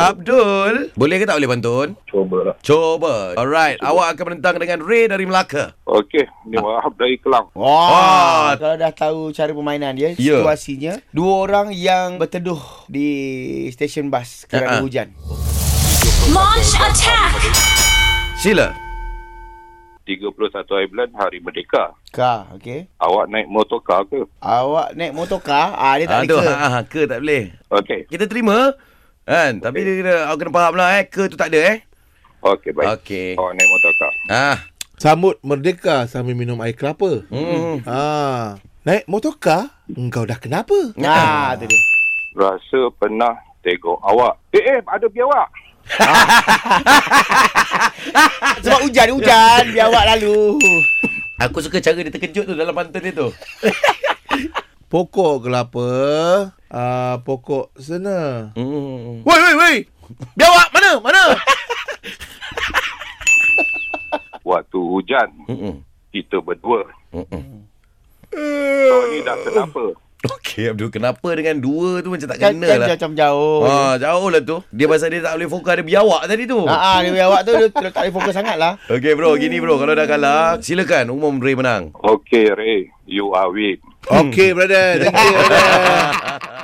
Abdul, boleh ke tak boleh pantun? Cubalah. Cuba. Alright, awak akan menentang dengan Ray dari Melaka. Okey, ni Wahab dari Kelang. Wah. Kalau dah tahu cara permainan dia, Ya. situasinya dua orang yang berteduh di stesen bas kerana hujan. Launch attack! Sila. 31 hari bulan Hari Merdeka. Kah, okey. Awak naik motorkar ke? Awak naik motorkar, dia tak tu, boleh ke. ke tak boleh. Okey. Kita terima. Kan? Tapi dia kena, awak kena faham lah ke tu tak ada Okey, baik. Okey. Awak naik motorkar. Sambut merdeka sambil minum air kelapa. Naik motorkar, engkau dah kenapa? Tu dia. Rasa pernah tengok awak. Ada biawak. Sebab hujan, biar awak lalu. Aku suka cara dia terkejut tu dalam pantun dia tu. Pokok kelapa, pokok sena. Woi. Biawak mana? Waktu hujan, kita berdua. Kau ni dah kenapa? Okey Abdul, kenapa dengan dua tu macam tak Kan kena lah. macam jauh. Jauh lah tu. Dia pasal dia tak boleh fokus ada biawak tadi tu. Dia biar awak tu dia tak boleh fokus sangat lah. Okey bro, gini bro, kalau dah kalah, silakan umum Ray menang. Okey, Ray. You are win. Okey, brother. Thank you, brother.